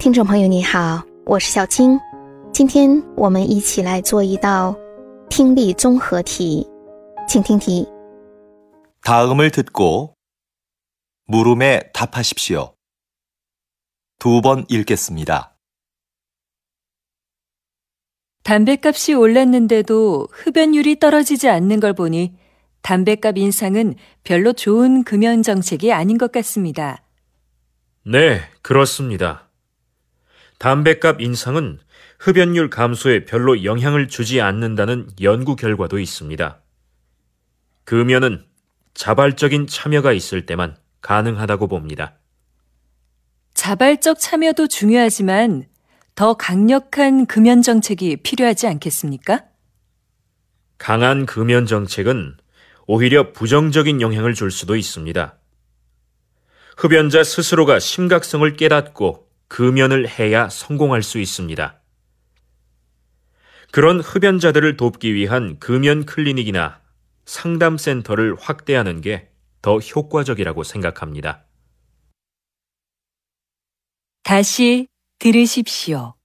听众朋友你好，我是小青。今天我们一起来做一道听力综合题，请听题。 다음을 듣고 물음에 답하십시오. 2번 읽겠습니다. 담뱃값이 올랐는데도 흡연율이 떨어지지 않는 걸 보니 담뱃값 인상은 별로 좋은 금연 정책이 아닌 것 같습니다. 네, 그렇습니다. 담뱃값 인상은 흡연율 감소에 별로 영향을 주지 않는다는 연구 결과도 있습니다. 금연은 자발적인 참여가 있을 때만 가능하다고 봅니다. 자발적 참여도 중요하지만 더 강력한 금연 정책이 필요하지 않겠습니까? 강한 금연 정책은 오히려 부정적인 영향을 줄 수도 있습니다. 흡연자 스스로가 심각성을 깨닫고 금연을 해야 성공할 수 있습니다. 그런 흡연자들을 돕기 위한 금연 클리닉이나 상담센터를 확대하는 게 더 효과적이라고 생각합니다. 다시 들으십시오.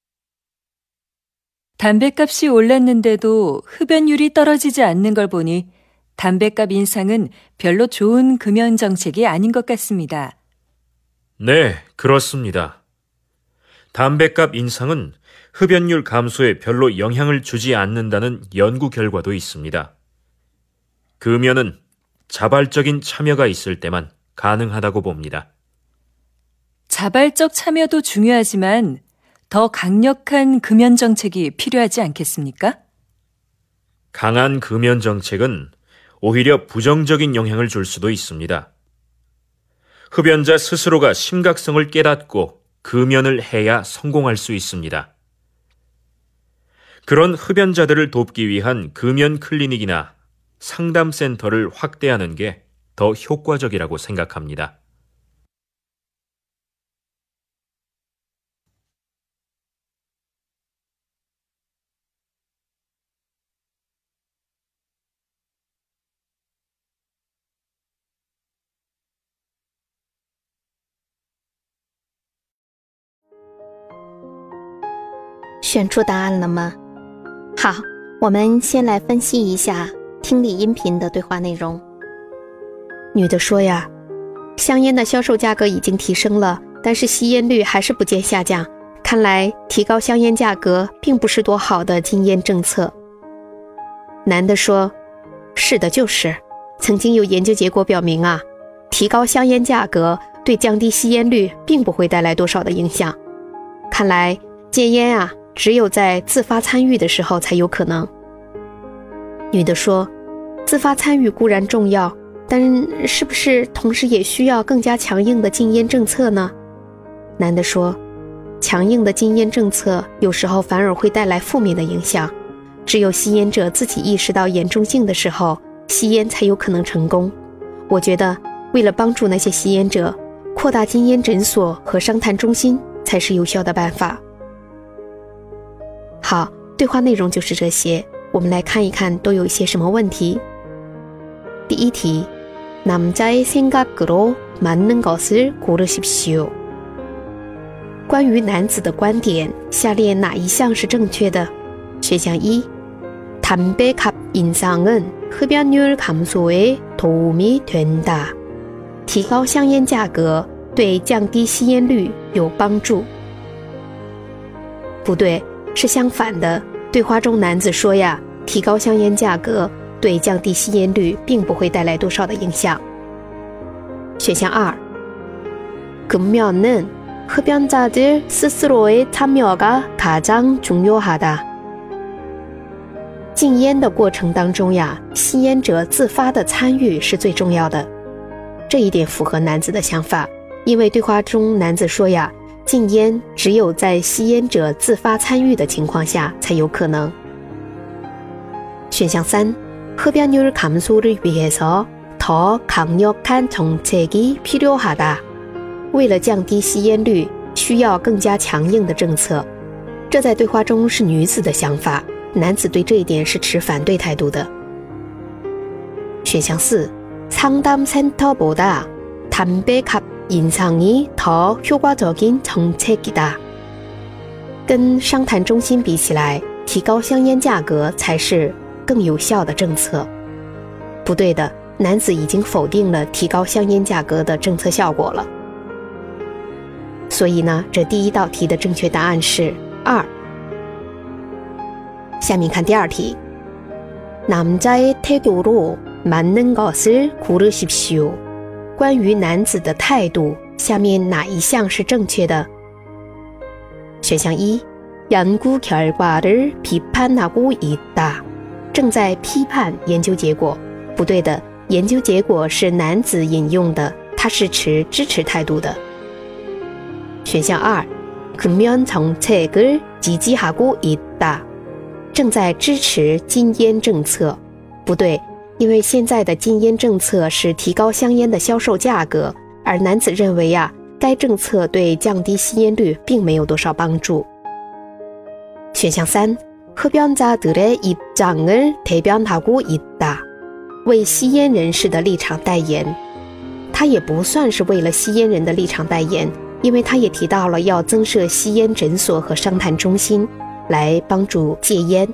담뱃값이 올랐는데도 흡연율이 떨어지지 않는 걸 보니 담뱃값 인상은 별로 좋은 금연 정책이 아닌 것 같습니다. 네, 그렇습니다. 담뱃값 인상은 흡연율 감소에 별로 영향을 주지 않는다는 연구 결과도 있습니다. 금연은 자발적인 참여가 있을 때만 가능하다고 봅니다. 자발적 참여도 중요하지만 더 강력한 금연 정책이 필요하지 않겠습니까? 강한 금연 정책은 오히려 부정적인 영향을 줄 수도 있습니다. 흡연자 스스로가 심각성을 깨닫고 금연을 해야 성공할 수 있습니다. 그런 흡연자들을 돕기 위한 금연 클리닉이나 상담센터를 확대하는 게 더 효과적이라고 생각합니다. "选出答案了吗？好，我们先来分析一下听力音频的对话内容。女的说呀，香烟的销售价格已经提升了，但是吸烟率还是不见下降，看来提高香烟价格并不是多好的禁烟政策。男的说，是的，就是曾经有研究结果表明啊，提高香烟价格对降低吸烟率并不会带来多少的影响，看来戒烟啊只有在自发参与的时候才有可能。女的说，自发参与固然重要，但是不是同时也需要更加强硬的禁烟政策呢？男的说，强硬的禁烟政策有时候反而会带来负面的影响，只有吸烟者自己意识到严重性的时候，吸烟才有可能成功。我觉得为了帮助那些吸烟者，扩大禁烟诊所和商谈中心才是有效的办法。好，对话内容就是这些，我们来看一看都有一些什么问题。第一题，남자의 생각으로 맞는 것을 고르십시오。关于男子的观点，下列哪一项是正确的？选项一，담배값 인상은 흡연율 감소에 도움이 된다。提高香烟价格对降低吸烟率有帮助。不对，是相反的。对话中男子说呀，提高香烟价格对降低吸烟率并不会带来多少的影响。选项二，금연은 흡연자들 스스로의 참여가 가장 중요하다。禁烟的过程当中呀，吸烟者自发的参与是最重要的。这一点符合男子的想法，因为对话中男子说呀，禁烟只有在吸烟者自发参与的情况下才有可能。选项三，흡연율 감소를 위해서 더 강력한 정책이 필요하다。为了降低吸烟率，需要更加强硬的政策。这在对话中是女子的想法，男子对这一点是持反对态度的。选项四，상담센터보다 담배값 인상이 더 효과적인 정책이다. 跟商谈中心比起来，提高香烟价格才是更有效的政策。不对的，男子已经否定了提高香烟价格的政策效果了。所以呢，这第一道题的正确答案是2。下面看第二题。 남자의 태도로 맞는 것을 고르십시오. 关于男子的态度，下面哪一项是正确的？选项1， 연구 결과를 비판하고 있다. 正在批判研究结果。不对的，研究结果是男子引用的，他是持支持态度的。选项2， 금연 정책을 지지하고 있다. 正在支持禁烟政策。不对，因为现在的禁烟政策是提高香烟的销售价格，而男子认为该政策对降低吸烟率并没有多少帮助。选项3， 흡연자들의 입장을 대변하고 있다. 为吸烟人士的立场代言。他也不算是为了吸烟人的立场代言，因为他也提到了要增设吸烟诊所和商谈中心，来帮助戒烟。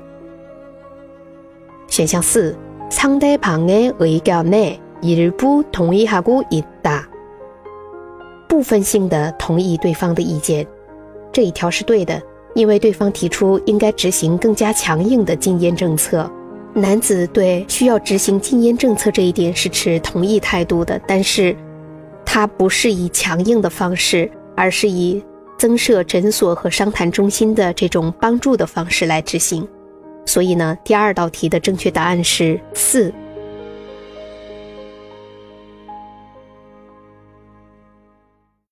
选项4， 상대방의 의견에 일부 동의하고 있다. 部分性的同意对方的意见。这一条是对的，因为对方提出应该执行更加强硬的禁烟政策。男子对需要执行禁烟政策这一点是持同意态度的，但是他不是以强硬的方式，而是以增设诊所和商谈中心的这种帮助的方式来执行。所以呢，第二道题的正确答案是4。